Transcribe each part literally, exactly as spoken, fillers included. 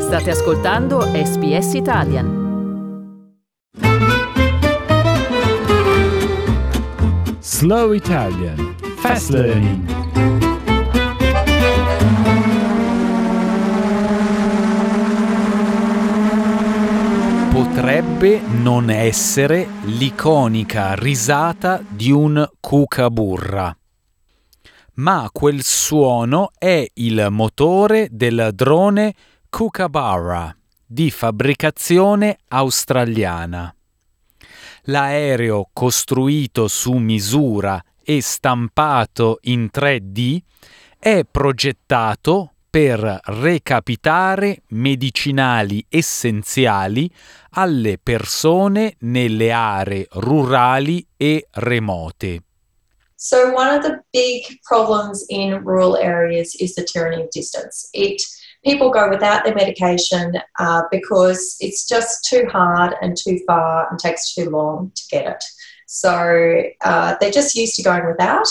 State ascoltando S B S Italian. Slow Italian Fast Learning. Potrebbe non essere l'iconica risata di un cucaburra, ma quel suono è il motore del drone Kookaburra di fabbricazione australiana. L'aereo costruito su misura e stampato in tre D è progettato per recapitare medicinali essenziali alle persone nelle aree rurali e remote. So one of the big problems in rural areas is the tyranny of distance. It people go without their medication uh, because it's just too hard and too far and takes too long to get it. So uh, they're just used to going without.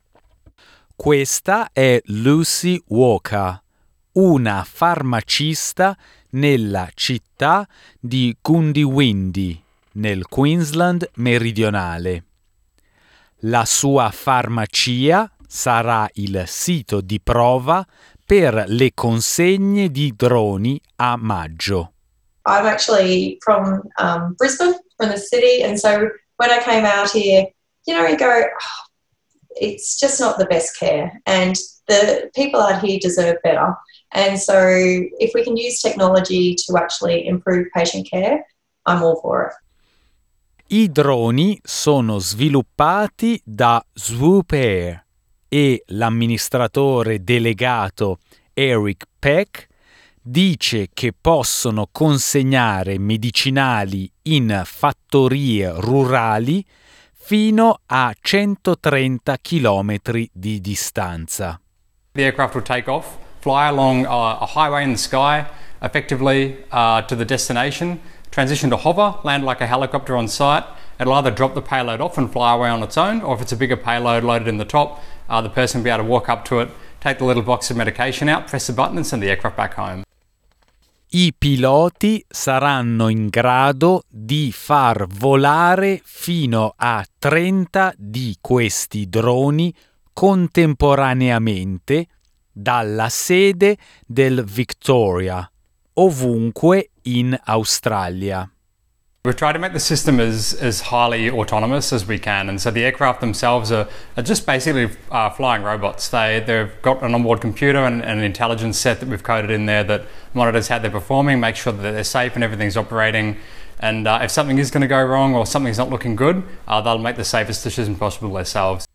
Questa è Lucy Walker, una farmacista nella città di Goondiwindi, nel Queensland meridionale. La sua farmacia sarà il sito di prova per le consegne di droni a maggio. I'm actually from um, Brisbane, from the city, and so when I came out here, you know, you go, oh, it's just not the best care, and the people out here deserve better. And so if we can use technology to actually improve patient care, I'm all for it. I droni sono sviluppati da Swoop Air e l'amministratore delegato Eric Peck dice che possono consegnare medicinali in fattorie rurali fino a centotrenta chilometri di distanza. The aircraft will take off, fly along uh, a highway in the sky, effectively uh, to the destination, transition to hover, land like a helicopter on site. It'll either drop the payload off and fly away on its own, or if it's a bigger payload loaded in the top, uh, the person will be able to walk up to it, take the little box of medication out, press the button and send the aircraft back home. I piloti saranno in grado di far volare fino a trenta di questi droni contemporaneamente dalla sede del Victoria, ovunque in Australia. We've tried to make the system as, as highly autonomous as we can, and so the aircraft themselves are, are just basically uh, flying robots. They, they've got an onboard computer and, and an intelligence set that we've coded in there that monitors how they're performing, makes sure that they're safe and everything's operating. And uh, if something is going to go wrong or something's not looking good, uh, they'll make the safest decision possible themselves.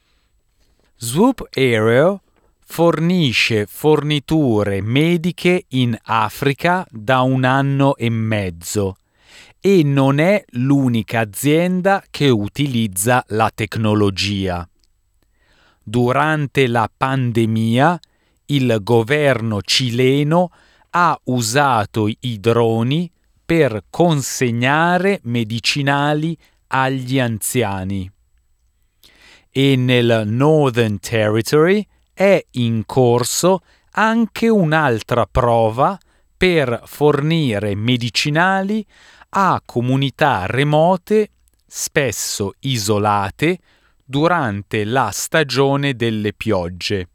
Swoop Aero fornisce forniture mediche in Africa da un anno e mezzo e non è l'unica azienda che utilizza la tecnologia. Durante la pandemia, il governo cileno ha usato i droni per consegnare medicinali agli anziani. E nel Northern Territory è in corso anche un'altra prova per fornire medicinali a comunità remote, spesso isolate, durante la stagione delle piogge.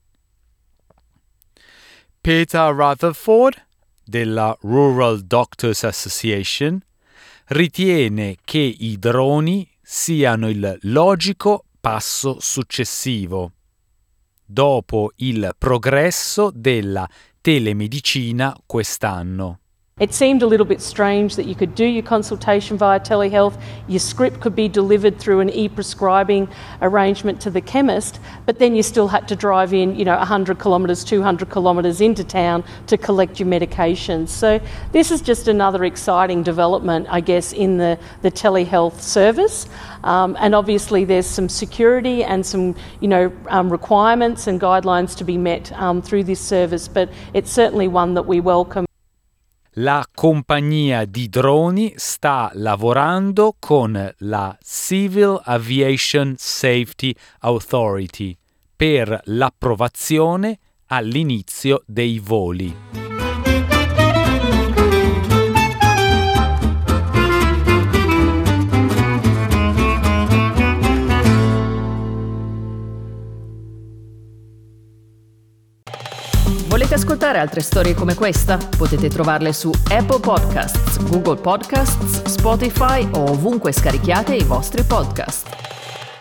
Peter Rutherford, della Rural Doctors Association, ritiene che i droni siano il logico passo successivo, dopo il progresso della telemedicina quest'anno. It seemed a little bit strange that you could do your consultation via telehealth, your script could be delivered through an e-prescribing arrangement to the chemist, but then you still had to drive in, you know, one hundred kilometres, two hundred kilometres into town to collect your medications. So this is just another exciting development, I guess, in the, the telehealth service. Um, and obviously there's some security and some, you know, um, requirements and guidelines to be met um, through this service, but it's certainly one that we welcome. La compagnia di droni sta lavorando con la Civil Aviation Safety Authority per l'approvazione all'inizio dei voli. Volete ascoltare altre storie come questa? Potete trovarle su Apple Podcasts, Google Podcasts, Spotify o ovunque scarichiate i vostri podcast.